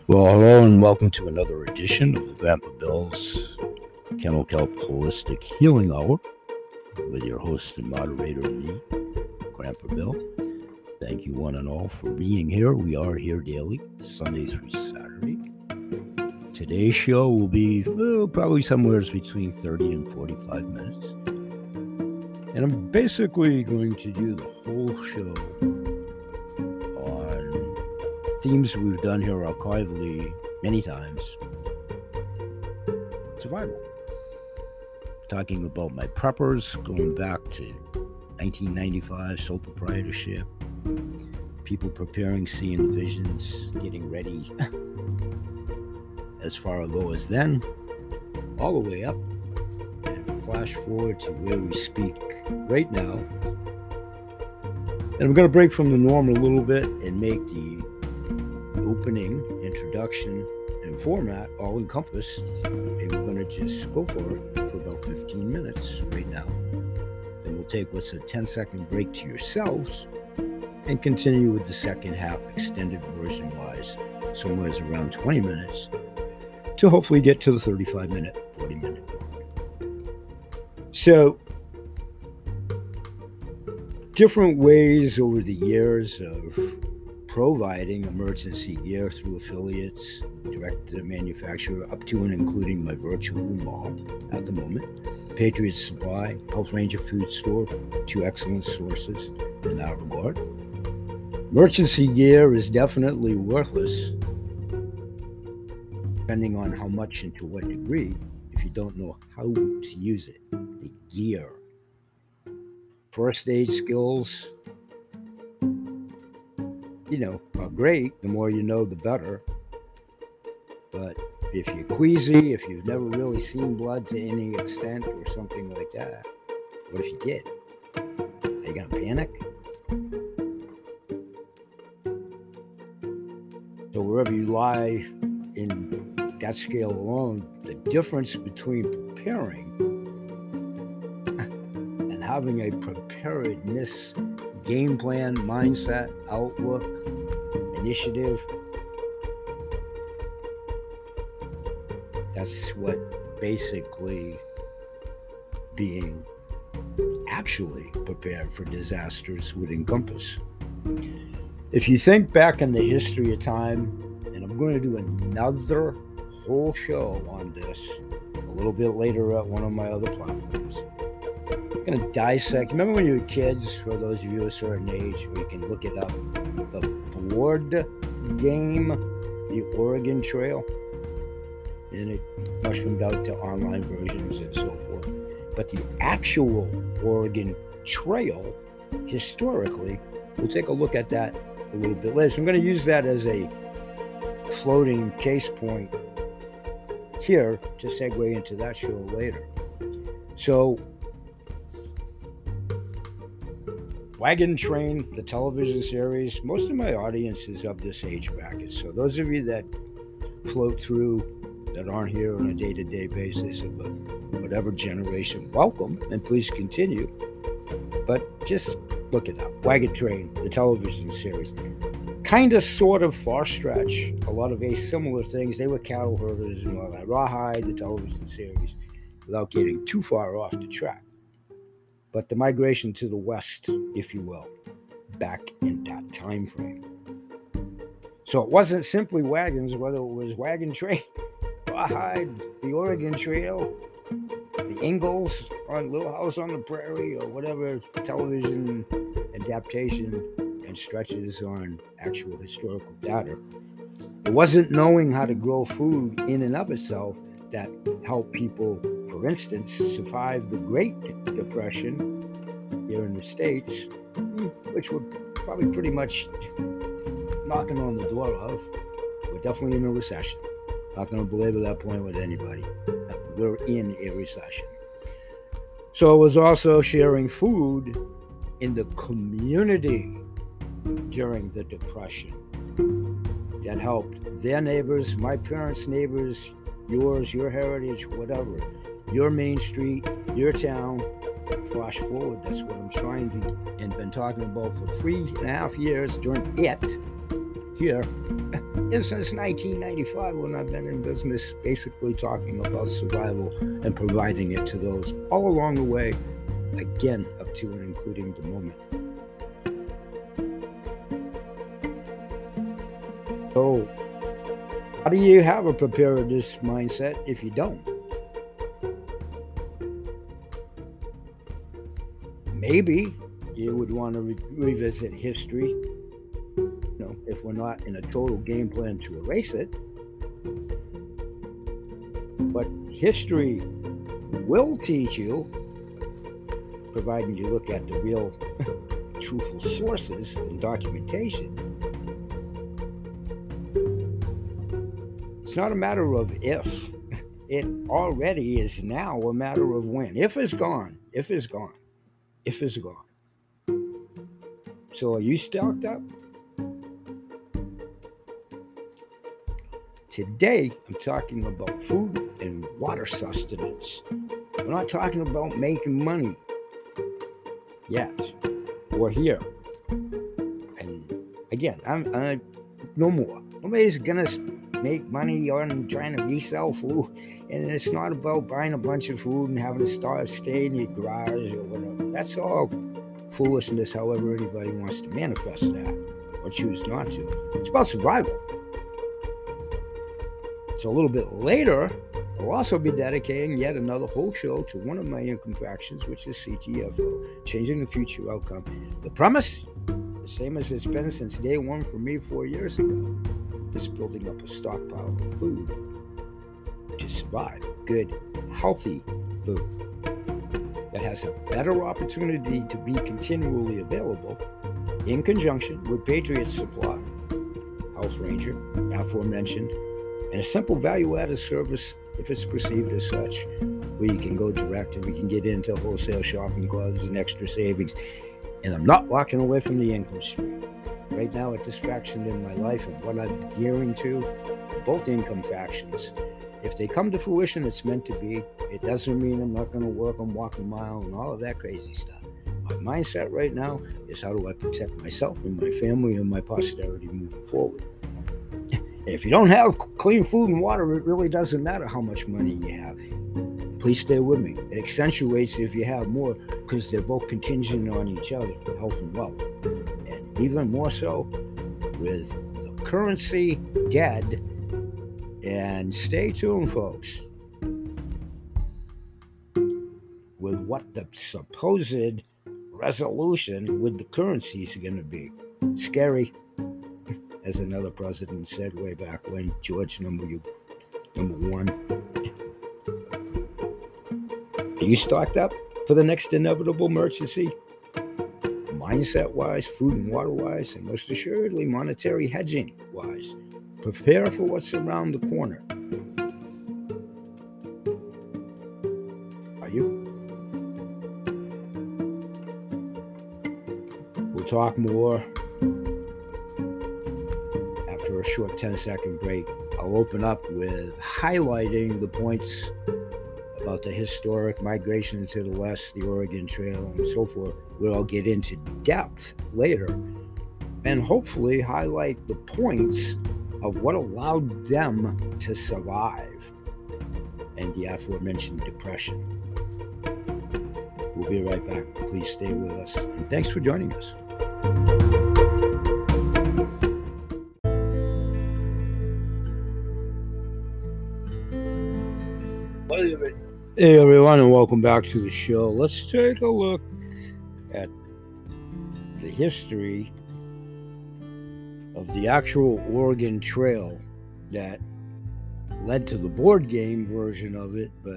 Well, hello and welcome to another edition of the Grandpa Bill's Kennel Kelp Holistic Healing Hour with your host and moderator, me, Grandpa Bill. Thank you one and all for being here. We are here daily, Sunday through Saturday. Today's show will be probably somewhere between 30 and 45 minutes. And I'm basically going to do the whole show on themes we've done here archivally many times. Survival. Talking about my preppers going back to 1995, sole proprietorship, people preparing, seeing visions, getting ready as far ago as then, all the way up, and flash forward to where we speak right now. And I'm going to break from the norm a little bit and make the opening, introduction, and format all encompassed, and we're going to just go for it for about 15 minutes right now. Then we'll take what's a 10-second break to yourselves and continue with the second half, extended version wise, somewhere around 20 minutes, to hopefully get to the 35-minute, 40-minute mark. So, different ways over the years of providing emergency gear through affiliates, direct to the manufacturer, up to and including my virtual mall at the moment, Patriot Supply, Health Ranger Food Store, two excellent sources in that regard. Emergency gear is definitely worthless, depending on how much and to what degree, if you don't know how to use it. The gear. First aid skills, are great. The more you know, the better. But if you're queasy, if you've never really seen blood to any extent or something like that, what if you did? Are you going to panic? So wherever you lie in that scale alone, the difference between preparing and having a preparedness game plan, mindset, outlook, initiative, that's what basically being actually prepared for disasters would encompass. If you think back in the history of time, and I'm going to do another whole show on this a little bit later at one of my other platforms. I'm going to dissect. Remember when you were kids, for those of you a certain age, or you can look it up, the board game, the Oregon Trail, and it mushroomed out to online versions and so forth. But the actual Oregon Trail, historically, we'll take a look at that a little bit later. So I'm going to use that as a floating case point here to segue into that show later. So, Wagon Train, the television series, most of my audience is of this age bracket. So those of you that float through, that aren't here on a day-to-day basis of whatever generation, welcome, and please continue. But just look it up. Wagon Train, the television series. Kind of, sort of, far stretch. A lot of very similar things. They were cattle herders and all that. Rawhide, the television series, without getting too far off the track. But the migration to the west, if you will, back in that time frame. So it wasn't simply wagons, whether it was Wagon Train, Rawhide, the Oregon Trail, the Ingalls on Little House on the Prairie, or whatever television adaptation and stretches on actual historical data. It wasn't knowing how to grow food in and of itself that helped people, for instance, survive the Great Depression here in the States, which we're probably pretty much knocking on the door of. We're definitely in a recession. Not going to belabor that point with anybody. We're in a recession. So it was also sharing food in the community during the Depression that helped their neighbors, my parents' neighbors, yours, your heritage, whatever, your main street, your town. Flash forward, that's what I'm trying to and been talking about for 3.5 years during it. here is since 1995, when I've been in business, basically talking about survival and providing it to those all along the way, again, up to and including the moment. So, how do you have a preparedness mindset if you don't? Maybe you would want to revisit history, if we're not in a total game plan to erase it. But history will teach you, providing you look at the real truthful sources and documentation. It's not a matter of if. It already is now a matter of when. If is gone. If is gone. If is gone. So are you stocked up? Today, I'm talking about food and water sustenance. We're not talking about making money yet. We're here. And again, I'm no more. Nobody's gonna make money on trying to resell food. And it's not about buying a bunch of food and having to stay in your garage or whatever. That's all foolishness, however anybody wants to manifest that or choose not to. It's about survival. So a little bit later, I'll also be dedicating yet another whole show to one of my income factions, which is CTFO, Changing the Future Outcome. The premise, the same as it's been since day one for me 4 years ago, is building up a stockpile of food to survive. Good, healthy food that has a better opportunity to be continually available in conjunction with Patriot Supply, Health Ranger, aforementioned, and a simple value-added service, if it's perceived as such, where you can go direct and we can get into wholesale shopping clubs and extra savings. And I'm not walking away from the income stream. Right now, at this faction in my life and what I'm gearing to, both income factions, if they come to fruition, it's meant to be. It doesn't mean I'm not going to work on walking mile and all of that crazy stuff. My mindset right now is, how do I protect myself and my family and my posterity moving forward? If you don't have clean food and water, it really doesn't matter how much money you have. Please stay with me. It accentuates if you have more, because they're both contingent on each other, health and wealth. And even more so with the currency dead. And stay tuned, folks, with what the supposed resolution with the currency is going to be. Scary. As another president said way back when, George number one. Are you stocked up for the next inevitable emergency? Mindset-wise, food and water-wise, and most assuredly monetary hedging-wise. Prepare for what's around the corner. Are you? We'll talk more after a short 10-second break. I'll open up with highlighting the points about the historic migration to the west, the Oregon Trail, and so forth, where I'll get into depth later, and hopefully highlight the points of what allowed them to survive and the aforementioned depression. We'll be right back. Please stay with us, and thanks for joining us. Hey everyone, and welcome back to the show. Let's take a look at the history of the actual Oregon Trail that led to the board game version of it. But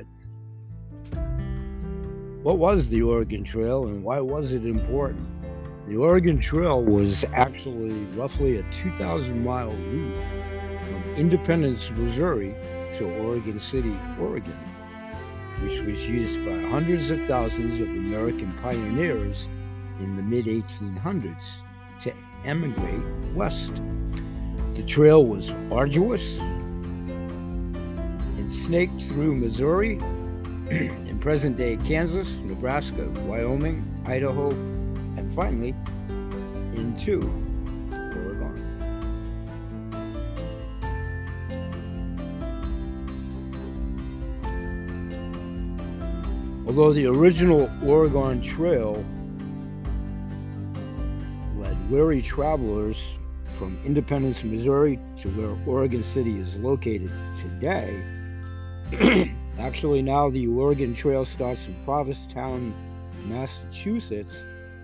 what was the Oregon Trail and why was it important? The Oregon Trail was actually roughly a 2,000-mile route from Independence, Missouri to Oregon City, Oregon, which was used by hundreds of thousands of American pioneers in the mid-1800s to emigrate west. The trail was arduous and snaked through Missouri, in present-day Kansas, Nebraska, Wyoming, Idaho, and finally into Oregon. Although the original Oregon Trail led weary travelers from Independence, Missouri to where Oregon City is located today, actually now the Oregon Trail starts in Provincetown, Massachusetts,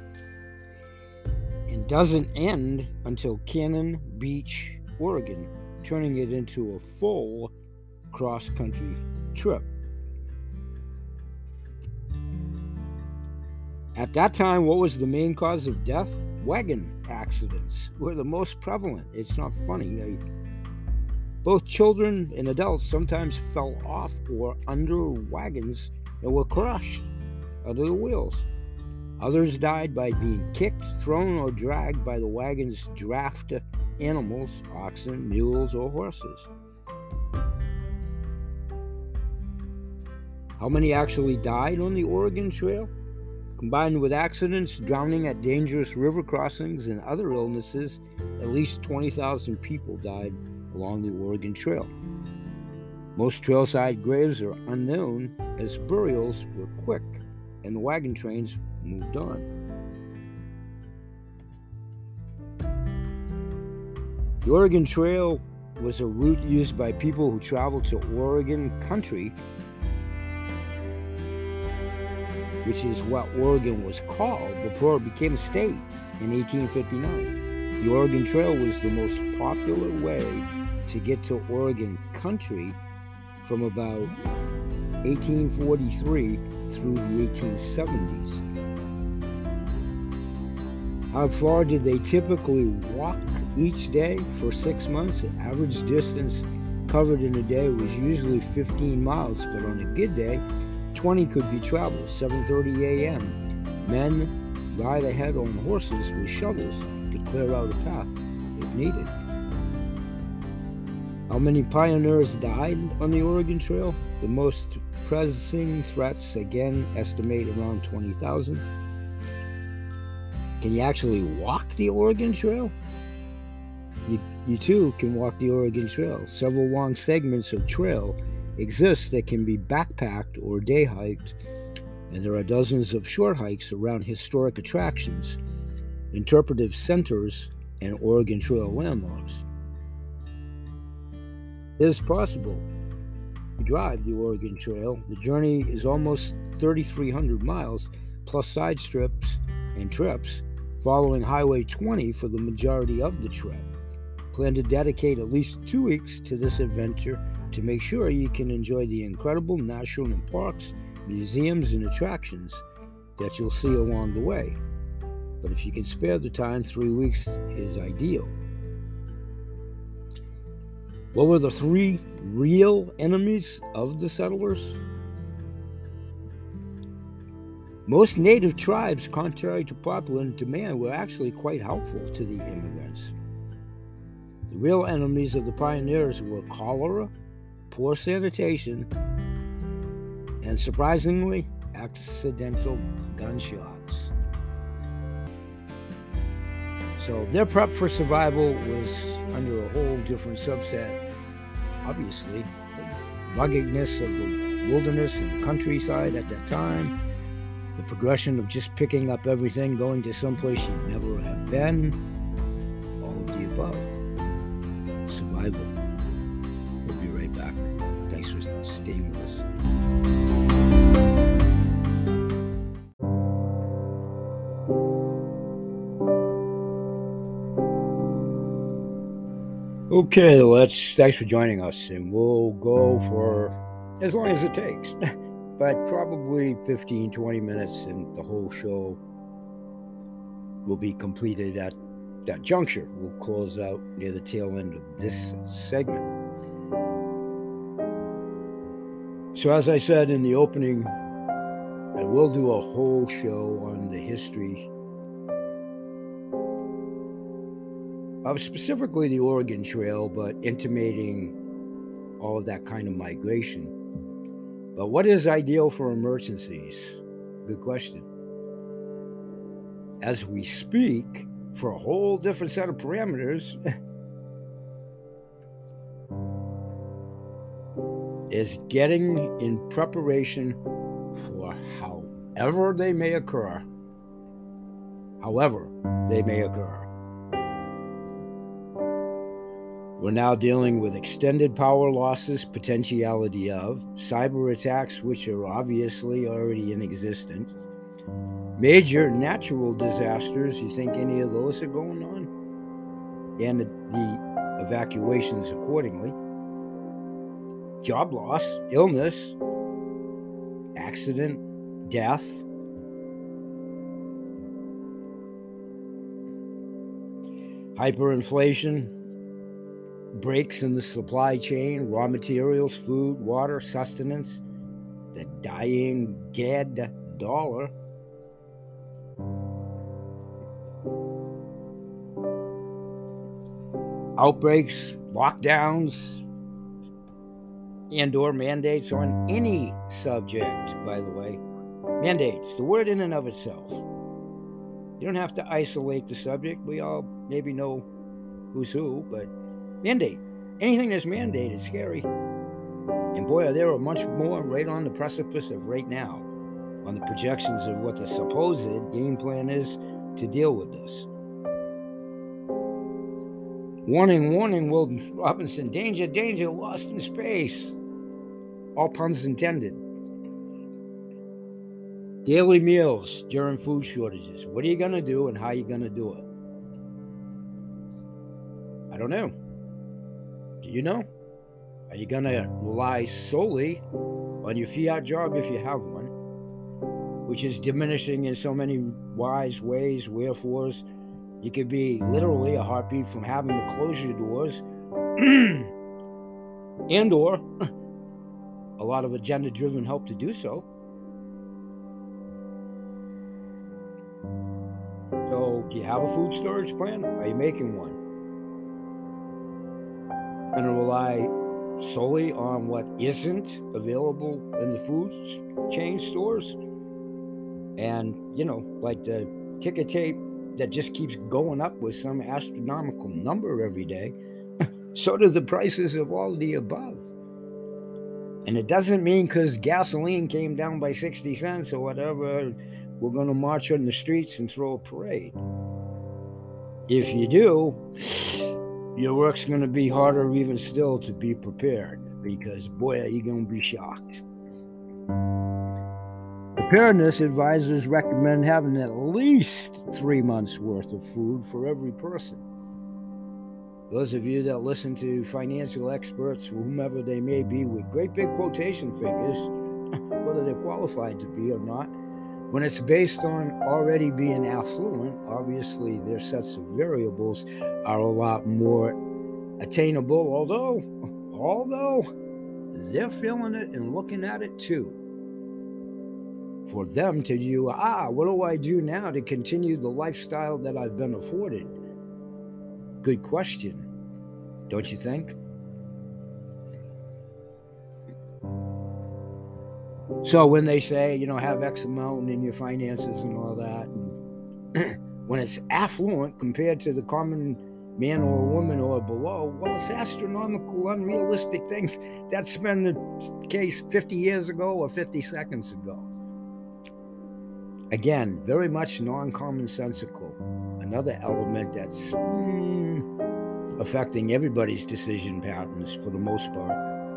and doesn't end until Cannon Beach, Oregon, turning it into a full cross-country trip. At that time, what was the main cause of death? Wagon accidents were the most prevalent. It's not funny. Both children and adults sometimes fell off or under wagons and were crushed under the wheels. Others died by being kicked, thrown, or dragged by the wagon's draft animals, oxen, mules, or horses. How many actually died on the Oregon Trail? Combined with accidents, drowning at dangerous river crossings, and other illnesses, at least 20,000 people died along the Oregon Trail. Most trailside graves are unknown, as burials were quick and the wagon trains moved on. The Oregon Trail was a route used by people who traveled to Oregon country, which is what Oregon was called before it became a state in 1859. The Oregon Trail was the most popular way to get to Oregon country from about 1843 through the 1870s. How far did they typically walk each day for 6 months? The average distance covered in a day was usually 15 miles, but on a good day, 20 could be traveled. 7:30 a.m. Men ride ahead on horses with shovels to clear out a path if needed. How many pioneers died on the Oregon Trail? The most pressing threats, again, estimate around 20,000. Can you actually walk the Oregon Trail? You too can walk the Oregon Trail. Several long segments of trail exist that can be backpacked or day hiked, and there are dozens of short hikes around historic attractions, interpretive centers, and Oregon Trail landmarks. It is possible to drive the Oregon Trail. The journey is almost 3,300 miles, plus side strips and trips, following Highway 20 for the majority of the trip. Plan to dedicate at least 2 weeks to this adventure to make sure you can enjoy the incredible national parks, museums, and attractions that you'll see along the way. But if you can spare the time, 3 weeks is ideal. What were the 3 real enemies of the settlers? Most native tribes, contrary to popular demand, were actually quite helpful to the immigrants. The real enemies of the pioneers were cholera, poor sanitation, and surprisingly, accidental gunshots. So their prep for survival was under a whole different subset. Obviously, the ruggedness of the wilderness and the countryside at that time, the progression of just picking up everything, going to someplace you never have been, all of the above. Survival. We'll be right back. Thanks for staying with us. Okay, thanks for joining us, and we'll go for as long as it takes, but probably 15-20 minutes, and the whole show will be completed at that juncture. We'll close out near the tail end of this segment. So as I said in the opening, I will do a whole show on the history of specifically the Oregon Trail, but intimating all of that kind of migration. But what is ideal for emergencies? Good question. As we speak, for a whole different set of parameters, is getting in preparation for however they may occur. However they may occur. We're now dealing with extended power losses, potentiality of, cyber attacks, which are obviously already in existence, major natural disasters. You think any of those are going on? And the evacuations accordingly. Job loss, illness, accident, death. Hyperinflation, breaks in the supply chain, raw materials, food, water, sustenance, the dying, dead dollar. Outbreaks, lockdowns, and/or mandates on any subject, by the way. Mandates, the word in and of itself. You don't have to isolate the subject. We all maybe know who's who, but mandate. Anything that's mandated is scary. And boy, there are much more right on the precipice of right now on the projections of what the supposed game plan is to deal with this. Warning, warning, Will Robinson. Danger, danger, lost in space. All puns intended. Daily meals during food shortages. What are you going to do and how are you going to do it? I don't know. Do you know? Are you going to rely solely on your fiat job if you have one, which is diminishing in so many wise ways, wherefores you could be literally a heartbeat from having to close your doors and or a lot of agenda-driven help to do so. So do you have a food storage plan? Are you making one? Going to rely solely on what isn't available in the food chain stores? And, you know, like the ticker tape that just keeps going up with some astronomical number every day, so do the prices of all of the above. And it doesn't mean because gasoline came down by 60 cents or whatever, we're going to march on the streets and throw a parade. If you do, your work's going to be harder even still to be prepared, because boy, are you going to be shocked. Preparedness advisors recommend having at least 3 months worth of food for every person. Those of you that listen to financial experts, whomever they may be, with great big quotation figures, whether they're qualified to be or not, when it's based on already being affluent, obviously their sets of variables are a lot more attainable, although they're feeling it and looking at it too. For them to do, what do I do now to continue the lifestyle that I've been afforded? Good question, don't you think? So when they say, have X amount in your finances and all that, and when it's affluent compared to the common man or woman or below, well, it's astronomical, unrealistic things. That's been the case 50 years ago or 50 seconds ago. Again, very much non-commonsensical. Another element that's affecting everybody's decision patterns for the most part.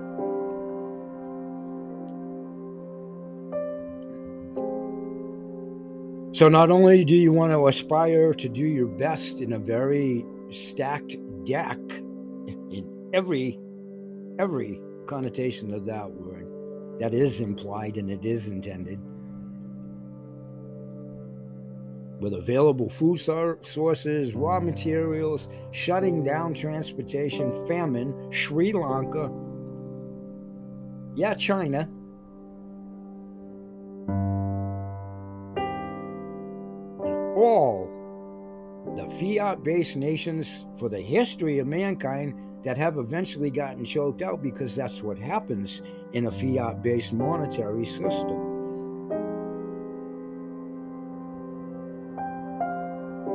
So not only do you want to aspire to do your best in a very stacked deck in every connotation of that word that is implied and it is intended, with available food sources, raw materials, shutting down transportation, famine, Sri Lanka, China, all the fiat-based nations for the history of mankind that have eventually gotten choked out, because that's what happens in a fiat-based monetary system.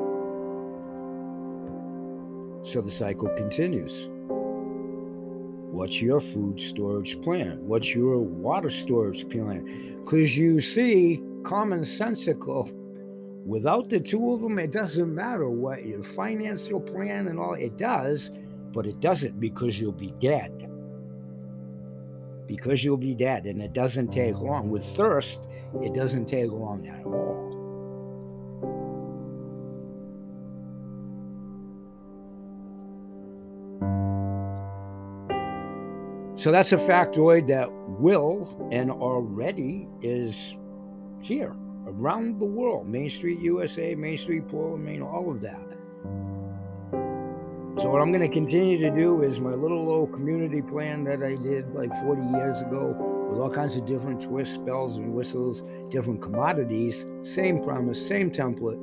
So the cycle continues. What's your food storage plan? What's your water storage plan? Because you see, commonsensical, without the two of them, it doesn't matter what your financial plan and all, it does, but it doesn't because you'll be dead. Because you'll be dead, and it doesn't take long. With thirst, it doesn't take long at all. So that's a factoid that will and already is here around the world. Main Street USA, Main Street Portland, Maine, all of that. So what I'm going to continue to do is my little old community plan that I did like 40 years ago with all kinds of different twists, bells, and whistles, different commodities, same premise, same template.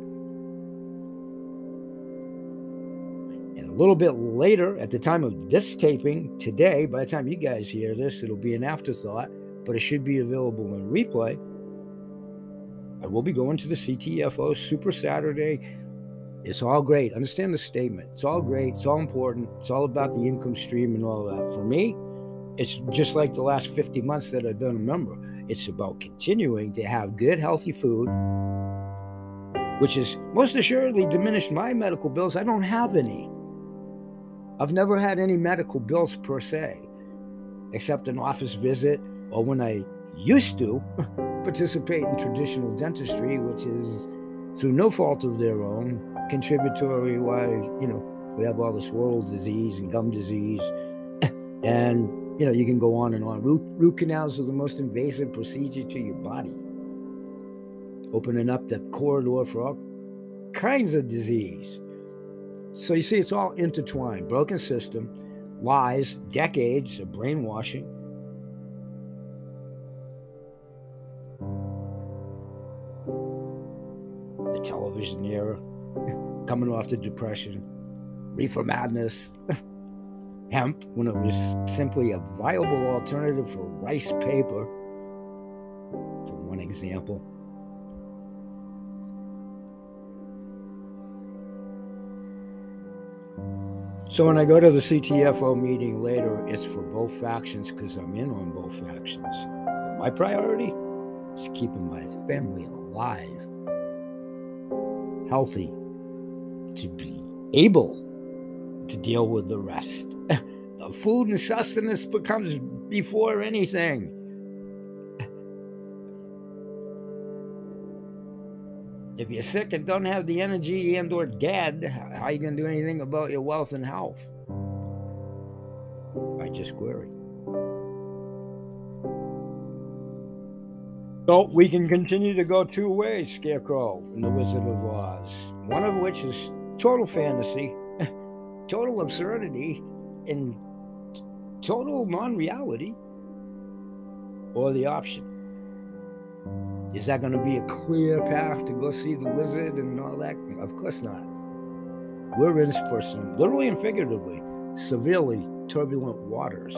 And a little bit later, at the time of this taping, today, by the time you guys hear this, it'll be an afterthought, but it should be available in replay. I will be going to the CTFO Super Saturday. It's all great. Understand the statement. It's all great. It's all important. It's all about the income stream and all that. For me, it's just like the last 50 months that I've been a member. It's about continuing to have good, healthy food, which has most assuredly diminished my medical bills. I don't have any. I've never had any medical bills per se, except an office visit or when I used to participate in traditional dentistry, which is through no fault of their own, contributory why, we have all this oral disease and gum disease. And, you can go on and on. Root canals are the most invasive procedure to your body, opening up that corridor for all kinds of disease. So you see, it's all intertwined. Broken system, lies, decades of brainwashing. The television era, coming off the Depression, reefer madness, hemp, when it was simply a viable alternative for rice paper, for one example. So when I go to the CTFO meeting later, it's for both factions because I'm in on both factions. But my priority is keeping my family alive, healthy, to be able to deal with the rest. The food and sustenance becomes before anything. If you're sick and don't have the energy and or dead, how are you going to do anything about your wealth and health? I just query. So we can continue to go two ways, Scarecrow and the Wizard of Oz. One of which is total fantasy, total absurdity, and total non-reality, or the option. Is that going to be a clear path to go see the wizard and all that? Of course not. We're in for some, literally and figuratively, severely turbulent waters.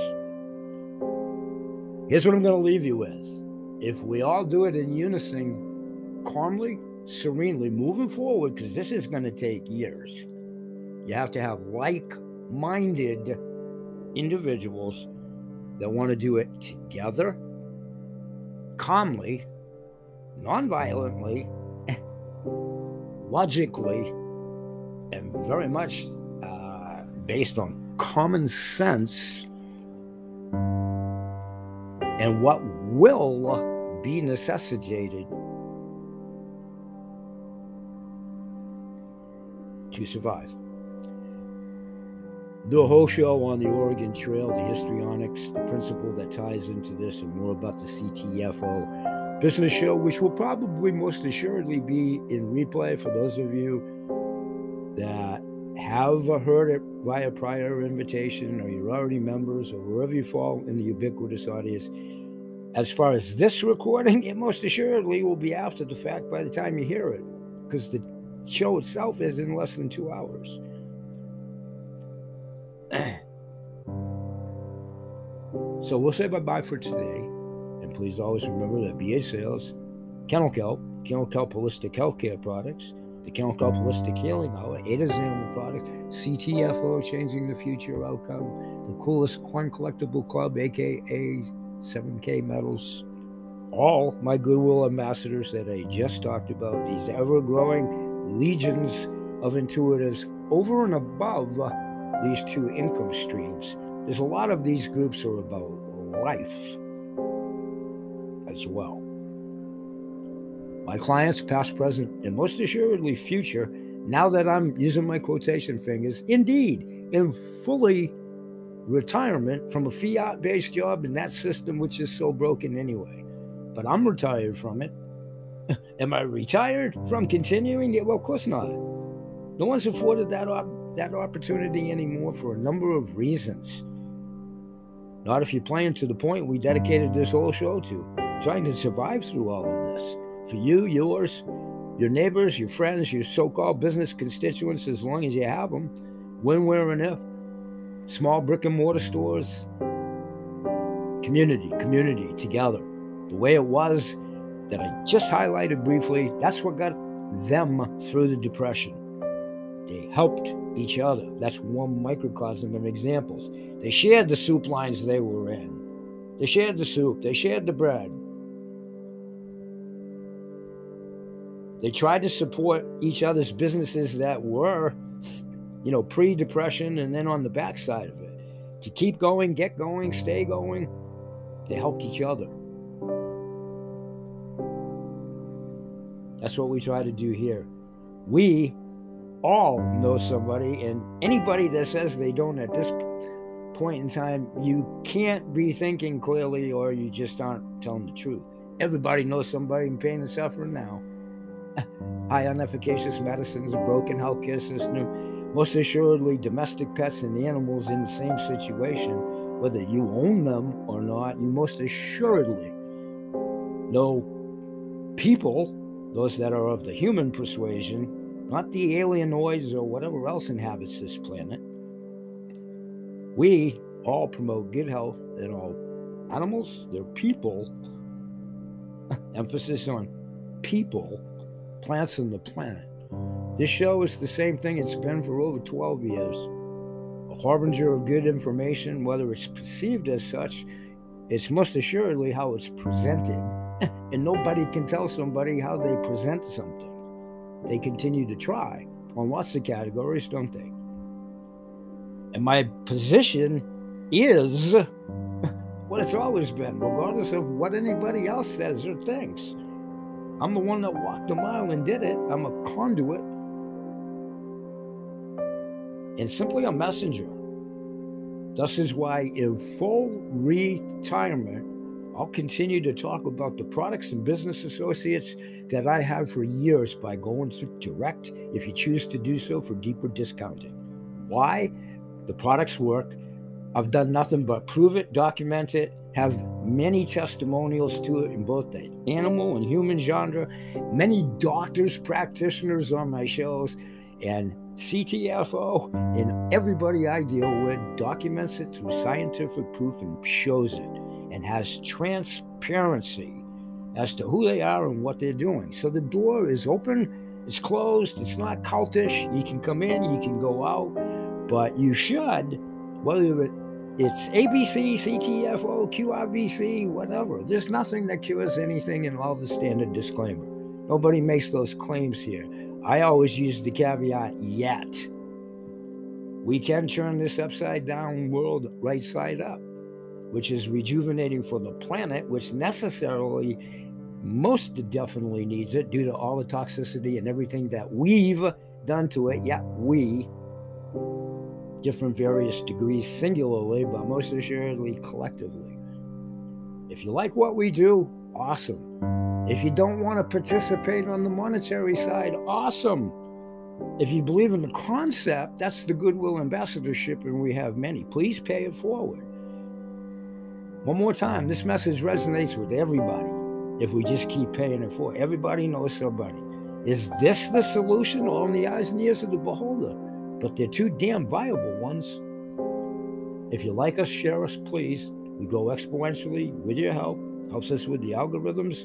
Here's what I'm going to leave you with. If we all do it in unison, calmly, serenely, moving forward, because this is going to take years, you have to have like-minded individuals that want to do it together, calmly, non-violently, logically, and very much based on common sense and what will be necessitated to survive. Do a whole show on the Oregon Trail, the histrionics, the principle that ties into this, and more about the CTFO business show, which will probably most assuredly be in replay for those of you that have heard it via prior invitation, or you're already members, or wherever you fall in the ubiquitous audience. As far as this recording, it most assuredly will be after the fact by the time you hear it, because the show itself is in less than 2 hours. So we'll say bye-bye for today. And please always remember that BA Sales, Kennel Kelp Holistic Healthcare Products, the Count Cup Holistic Healing Hour, Ada's Animal Products, CTFO, Changing the Future Outcome, the Coolest Coin Collectible Club, aka 7K Metals, all my Goodwill ambassadors that I just talked about, these ever-growing legions of intuitives over and above these two income streams. There's a lot of these groups are about life as well. My clients, past, present, and most assuredly future, now that I'm using my quotation fingers, indeed, in fully retirement from a fiat-based job in that system which is so broken anyway. But I'm retired from it. Am I retired from continuing it? Well, of course not. No one's afforded that opportunity anymore for a number of reasons. Not if you're playing to the point we dedicated this whole show to, trying to survive through all of this. For you, yours, your neighbors, your friends, your so-called business constituents, as long as you have them, when, where, and if. Small brick and mortar stores, community together. The way it was that I just highlighted briefly, that's what got them through the Depression. They helped each other. That's one microcosm of examples. They shared the soup lines they were in. They shared the soup. They shared the bread. They tried to support each other's businesses that were, pre-Depression, and then on the backside of it. To keep going, get going, stay going, they helped each other. That's what we try to do here. We all know somebody, and anybody that says they don't at this point in time, you can't be thinking clearly, or you just aren't telling the truth. Everybody knows somebody in pain and suffering now. High unefficacious medicines, a broken healthcare system, most assuredly domestic pets and animals in the same situation. Whether you own them or not, you most assuredly know people, those that are of the human persuasion, not the alienoids or whatever else inhabits this planet. We all promote good health in all animals, they're people, emphasis on people, plants, and the planet. This show is the same thing it's been for over 12 years. A harbinger of good information, whether it's perceived as such, it's most assuredly how it's presented. And nobody can tell somebody how they present something. They continue to try on lots of categories, don't they? And my position is what it's always been, regardless of what anybody else says or thinks. I'm the one that walked the mile and did it. I'm a conduit and simply a messenger. Thus is why in full retirement, I'll continue to talk about the products and business associates that I have for years by going to direct, if you choose to do so, for deeper discounting. Why? The products work. I've done nothing but prove it, document it, have many testimonials to it in both the animal and human genre, many doctors, practitioners on my shows, and CTFO, and everybody I deal with documents it through scientific proof and shows it, and has transparency as to who they are and what they're doing. So the door is open, it's closed, it's not cultish. You can come in, you can go out, but you should, whether it's ABC, CTFO, QRVC, whatever. There's nothing that cures anything in all the standard disclaimer. Nobody makes those claims here. I always use the caveat, yet. We can turn this upside down world right side up, which is rejuvenating for the planet, which necessarily, most definitely needs it due to all the toxicity and everything that we've done to it. Yeah, we, different various degrees singularly, but most assuredly collectively. If you like what we do, awesome. If you don't want to participate on the monetary side, awesome. If you believe in the concept, that's the Goodwill Ambassadorship, and we have many. Please pay it forward. One more time, this message resonates with everybody if we just keep paying it forward. Everybody knows somebody. Is this the solution? All in the eyes and ears of the beholder. But they're two damn viable ones. If you like us, share us, please. We go exponentially with your help. Helps us with the algorithms.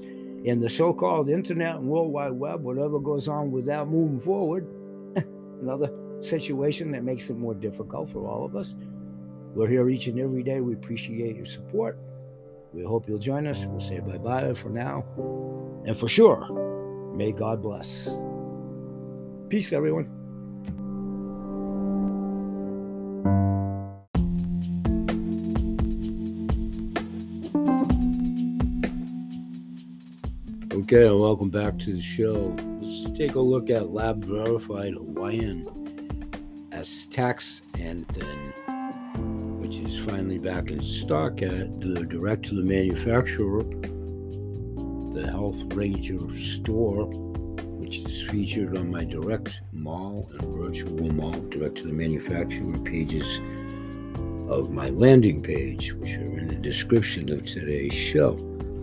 in the so-called internet and World Wide Web, whatever goes on with that moving forward, another situation that makes it more difficult for all of us. We're here each and every day. We appreciate your support. We hope you'll join us. We'll say bye-bye for now. And for sure, may God bless. Peace, everyone. Okay, and welcome back to the show. Let's take a look at lab-verified Hawaiian astaxanthin, which is finally back in stock at the direct-to-the-manufacturer, the Health Ranger store, which is featured on my direct mall and virtual mall direct-to-the-manufacturer pages of my landing page, which are in the description of today's show.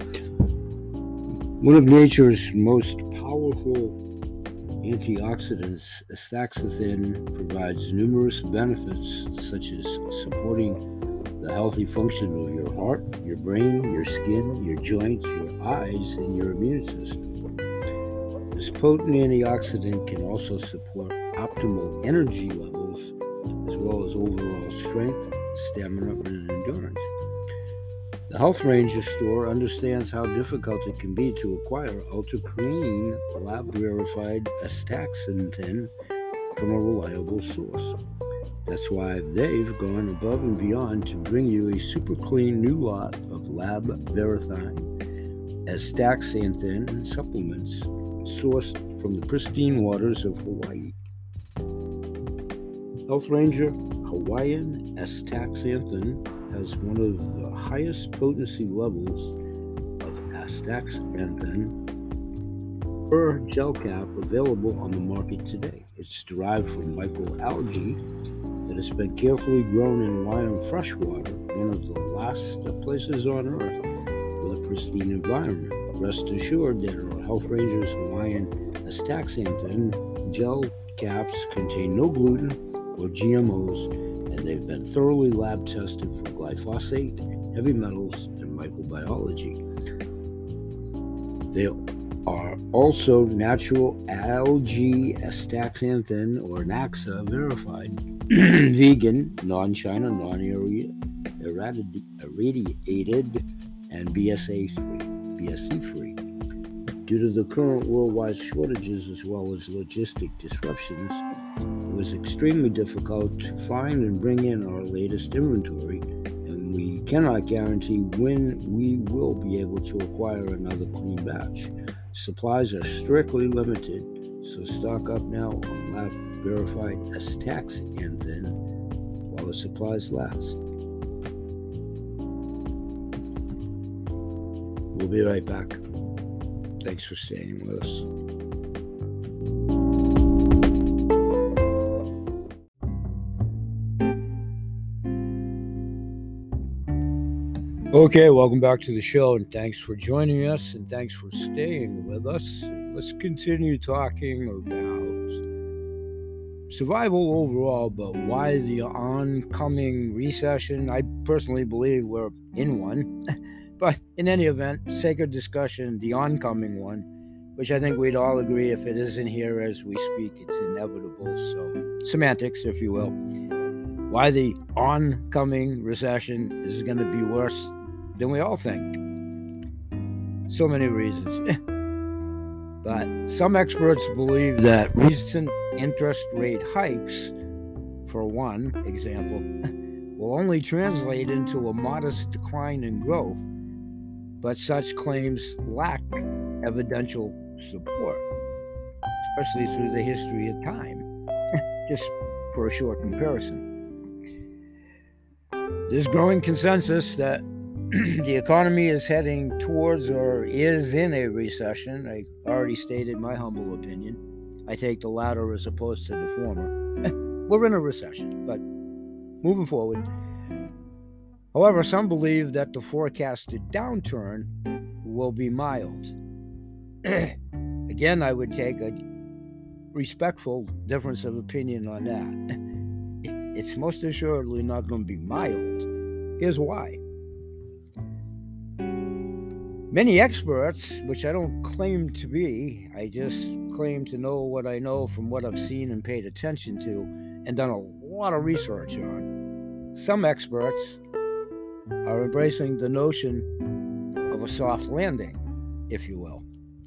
One of nature's most powerful antioxidants, astaxanthin provides numerous benefits such as supporting the healthy function of your heart, your brain, your skin, your joints, your eyes, and your immune system. This potent antioxidant can also support optimal energy levels as well as overall strength, stamina, and endurance. The Health Ranger store understands how difficult it can be to acquire ultra-clean, lab-verified astaxanthin from a reliable source. That's why they've gone above and beyond to bring you a super clean new lot of lab-verified astaxanthin supplements sourced from the pristine waters of Hawaii. Health Ranger Hawaiian astaxanthin has one of the highest potency levels of astaxanthin per gel cap available on the market today. It's derived from microalgae that has been carefully grown in Hawaiian freshwater, one of the last places on Earth with a pristine environment. Rest assured that our Health Rangers Hawaiian astaxanthin gel caps contain no gluten or GMOs, and they've been thoroughly lab tested for glyphosate, heavy metals, and microbiology. They are also natural algae astaxanthin or NAXA verified, vegan, non-China, non-irradiated, and BSE-free. Due to the current worldwide shortages as well as logistic disruptions, it was extremely difficult to find and bring in our latest inventory, and we cannot guarantee when we will be able to acquire another clean batch. Supplies are strictly limited, so stock up now on lab-verified astaxanthin while the supplies last. We'll be right back. Thanks for staying with us. Okay, welcome back to the show, and thanks for joining us, and thanks for staying with us. Let's continue talking about survival overall, but why the oncoming recession. I personally believe we're in one, but in any event, sacred discussion, the oncoming one, which I think we'd all agree if it isn't here as we speak, it's inevitable. So, semantics, if you will. Why the oncoming recession is going to be worse than we all think. So many reasons. But some experts believe that recent interest rate hikes, for one example, will only translate into a modest decline in growth, but such claims lack evidential support, especially through the history of time. Just for a short comparison. There's growing consensus that the economy is heading towards or is in a recession. I already stated my humble opinion. I take the latter as opposed to the former. We're in a recession, but moving forward. However, some believe that the forecasted downturn will be mild. Again, I would take a respectful difference of opinion on that. It's most assuredly not going to be mild. Here's why. Many experts, which I don't claim to be, I just claim to know what I know from what I've seen and paid attention to and done a lot of research on. Some experts are embracing the notion of a soft landing, if you will.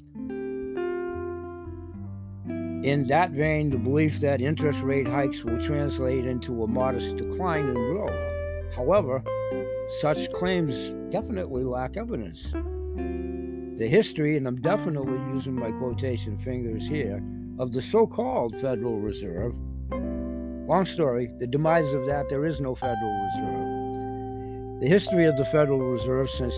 In that vein, the belief that interest rate hikes will translate into a modest decline in growth. However, such claims definitely lack evidence. The history, and I'm definitely using my quotation fingers here, of the so-called Federal Reserve. Long story, the demise of that, there is no Federal Reserve. The history of the Federal Reserve since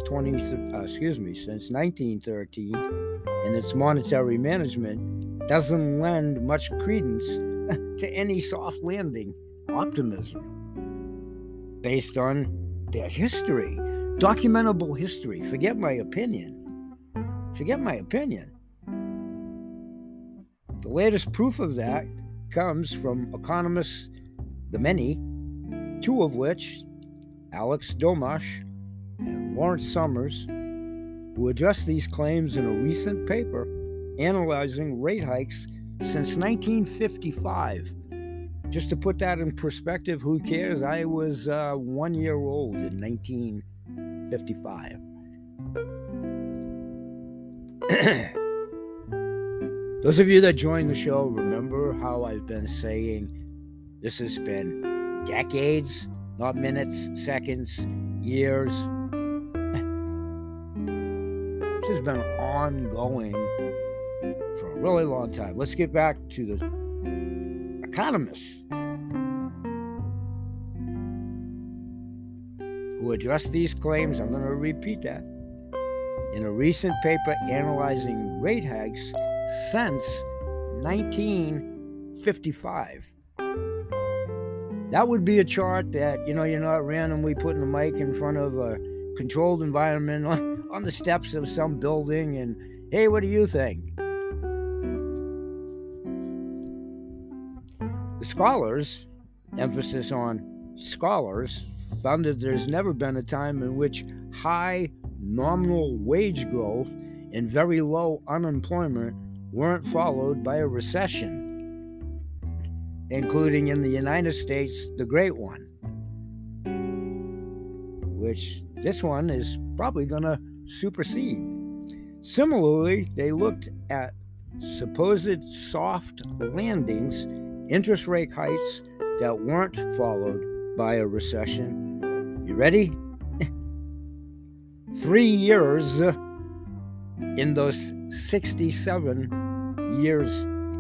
1913 and its monetary management doesn't lend much credence to any soft landing optimism based on their history, documentable history. Forget my opinion. The latest proof of that comes from economists, the many, two of which, Alex Domash and Lawrence Summers, who addressed these claims in a recent paper analyzing rate hikes since 1955. Just to put that in perspective, who cares? I was 1 year old in 1955. Those of you that joined the show remember how I've been saying this has been decades, not minutes, seconds, years. This has been ongoing for a really long time. Let's get back to the economists who addressed these claims. I'm going to repeat that. In a recent paper analyzing rate hikes since 1955. That would be a chart that, you're not randomly putting a mic in front of a controlled environment on the steps of some building and, hey, what do you think? The scholars, emphasis on scholars, found that there's never been a time in which high nominal wage growth and very low unemployment weren't followed by a recession, including in the United States, the Great One, which this one is probably going to supersede. Similarly, they looked at supposed soft landings, interest rate hikes that weren't followed by a recession. You ready? 3 years in those 67 years.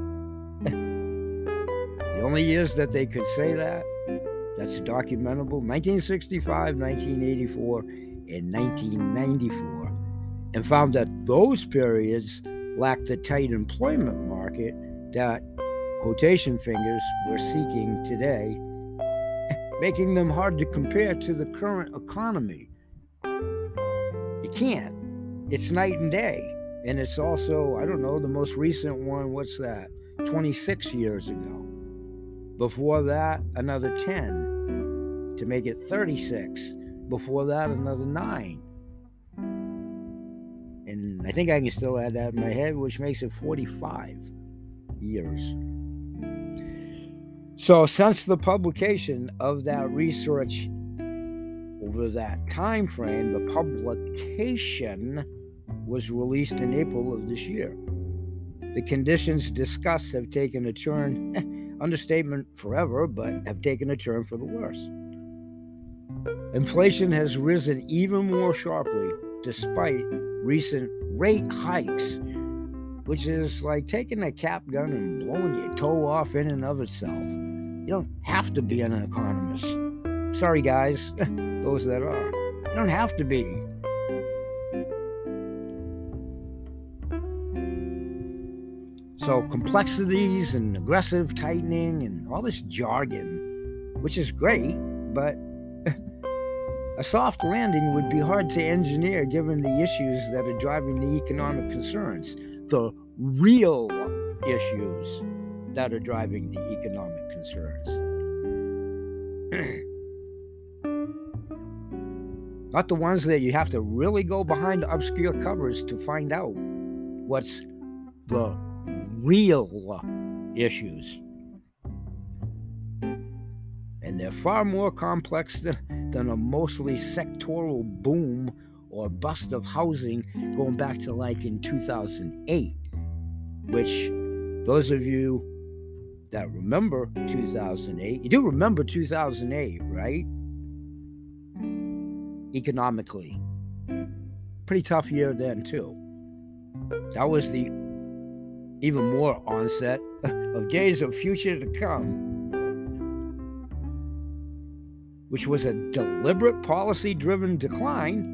The only years that they could say that's documentable, 1965, 1984, and 1994, and found that those periods lacked the tight employment market that quotation fingers were seeking today, making them hard to compare to the current economy. You can't. It's night and day. And it's also, the most recent one, what's that? 26 years ago. Before that, another 10 to make it 36. Before that, another 9. And I think I can still add that in my head, which makes it 45 years. So since the publication of that research over that time frame, the publication was released in April of this year. The conditions discussed have taken a turn, understatement forever, but have taken a turn for the worse. Inflation has risen even more sharply despite recent rate hikes, which is like taking a cap gun and blowing your toe off in and of itself. You don't have to be an economist. Sorry, guys, those that are. You don't have to be. So complexities and aggressive tightening and all this jargon, which is great, but a soft landing would be hard to engineer given the issues that are driving the economic concerns, the real issues that are driving the economic concerns. Not the ones that you have to really go behind the obscure covers to find out what's the real issues. And they're far more complex than a mostly sectoral boom or bust of housing going back to like in 2008, which those of you that remember 2008, you do remember 2008, right? Economically. Pretty tough year then too. That was the even more onset of days of future to come, which was a deliberate policy-driven decline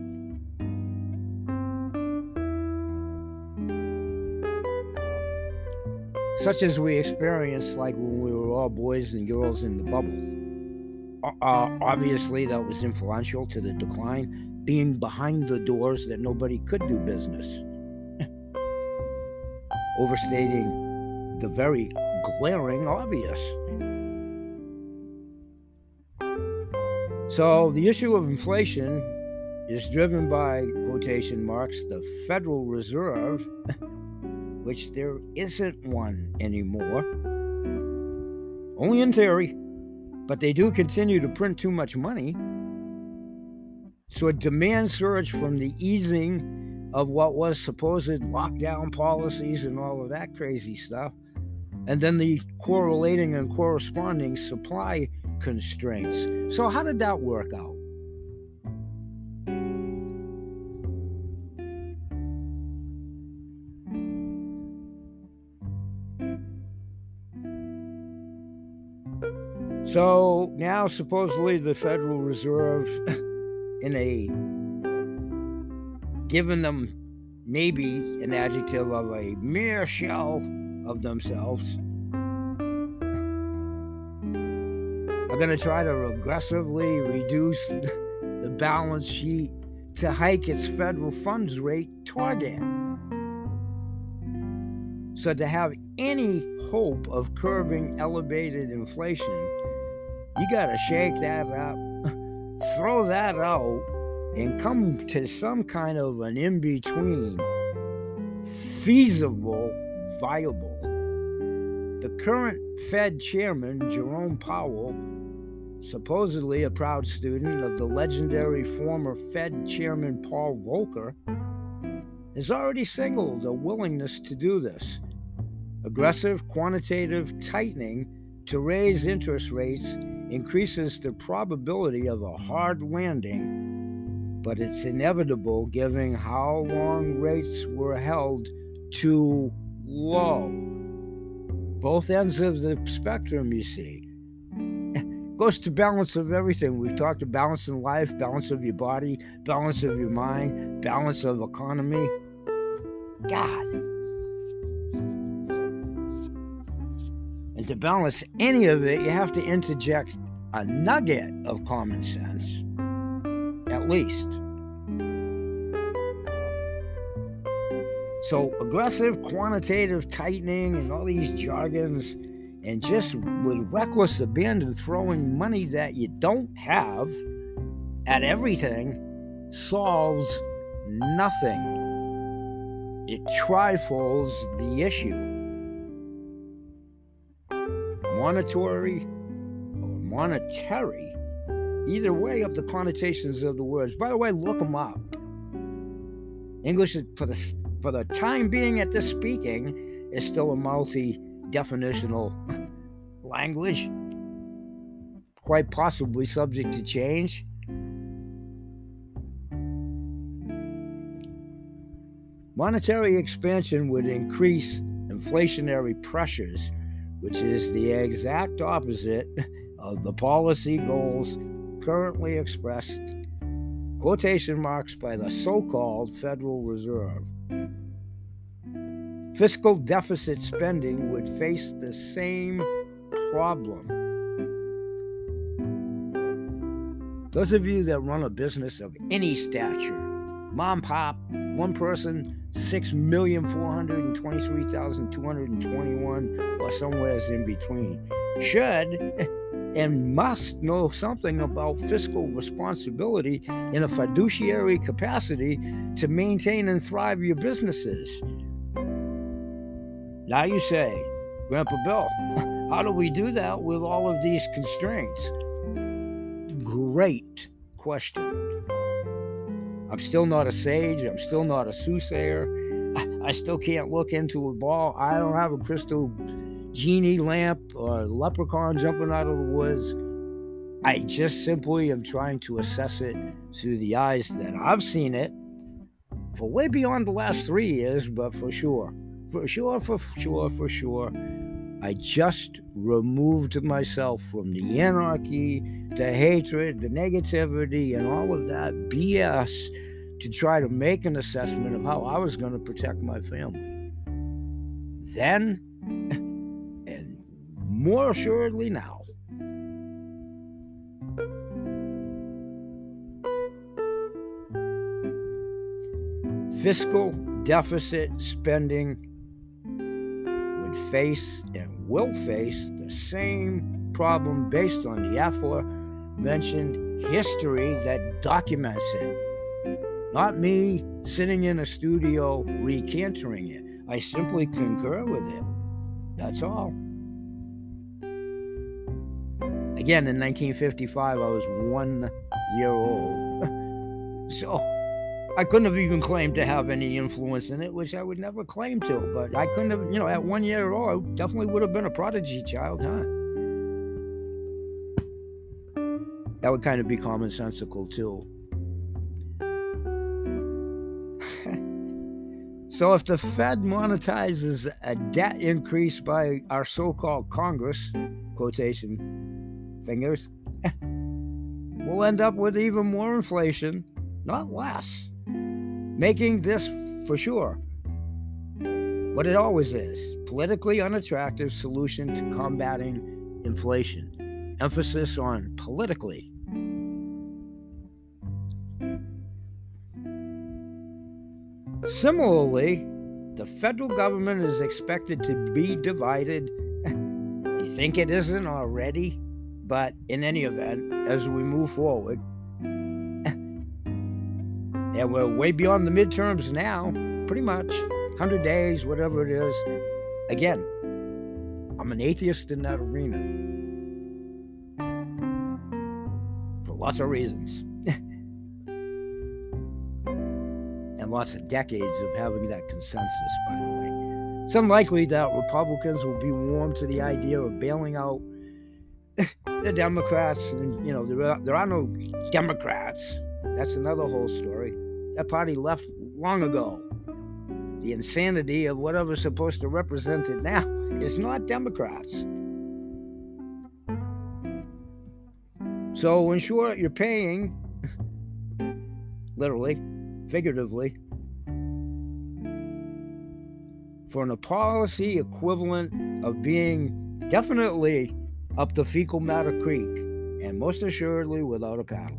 such as we experienced like when we were all boys and girls in the bubble. Obviously, that was influential to the decline, being behind the doors that nobody could do business. Overstating the very glaring obvious. So the issue of inflation is driven by, quotation marks, the Federal Reserve, which there isn't one anymore. Only in theory, but they do continue to print too much money. So a demand surge from the easing of what was supposed lockdown policies and all of that crazy stuff, and then the correlating and corresponding supply constraints. So how did that work out? So now supposedly the Federal Reserve, given them maybe an adjective of a mere shell of themselves, are going to try to aggressively reduce the balance sheet to hike its federal funds rate target. So to have any hope of curbing elevated inflation, you got to shake that up, throw that out, and come to some kind of an in-between, feasible, viable. The current Fed chairman, Jerome Powell, supposedly a proud student of the legendary former Fed chairman Paul Volcker, has already signaled a willingness to do this. Aggressive quantitative tightening to raise interest rates increases the probability of a hard landing, but it's inevitable given how long rates were held too low. Both ends of the spectrum, you see. Goes to balance of everything. We've talked about balance in life, balance of your body, balance of your mind, balance of economy. God. And to balance any of it, you have to interject a nugget of common sense, at least. So aggressive quantitative tightening and all these jargons, and just with reckless abandon throwing money that you don't have at everything solves nothing. It trifles the issue. Monetary, either way of the connotations of the words. By the way, look them up. English, for the time being at this speaking, is still a multi-definitional language, quite possibly subject to change. Monetary expansion would increase inflationary pressures, which is the exact opposite of the policy goals currently expressed, quotation marks, by the so-called Federal Reserve. Fiscal deficit spending would face the same problem. Those of you that run a business of any stature, mom, pop, one person, 6,423,221, or somewhere in between, should and must know something about fiscal responsibility in a fiduciary capacity to maintain and thrive your businesses. Now you say, Grandpa Bill, how do we do that with all of these constraints? Great question. I'm still not a sage. I'm still not a soothsayer. I still can't look into a ball. I don't have a crystal genie lamp or leprechaun jumping out of the woods. I just simply am trying to assess it through the eyes that I've seen it for way beyond the last 3 years, but for sure, I just removed myself from the anarchy, the hatred, the negativity, and all of that BS to try to make an assessment of how I was going to protect my family. Then, and more assuredly now. Fiscal deficit spending would face and will face the same problem based on the aforementioned history that documents it. Not me sitting in a studio recanting it. I simply concur with it. That's all. Again, in 1955, I was 1 year old. So I couldn't have even claimed to have any influence in it, which I would never claim to. But I couldn't have, at 1 year old, I definitely would have been a prodigy child, huh? That would kind of be commonsensical, too. So if the Fed monetizes a debt increase by our so-called Congress, quotation fingers, we'll end up with even more inflation, not less, making this for sure what it always is, politically unattractive solution to combating inflation. Emphasis on politically. Similarly, the federal government is expected to be divided. You think it isn't already? But in any event, as we move forward, and we're way beyond the midterms now, pretty much, 100 days, whatever it is. Again, I'm an atheist in that arena. For lots of reasons. And lots of decades of having that consensus, by the way. It's unlikely that Republicans will be warm to the idea of bailing out the Democrats. And, there are no Democrats. That's another whole story. That party left long ago. The insanity of whatever's supposed to represent it now is not Democrats. So in short, you're paying, literally, figuratively, for a policy equivalent of being definitely up the fecal matter creek, and most assuredly without a paddle.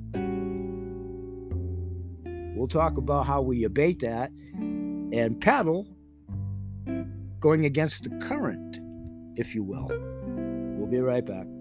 We'll talk about how we abate that and paddle going against the current, if you will. We'll be right back.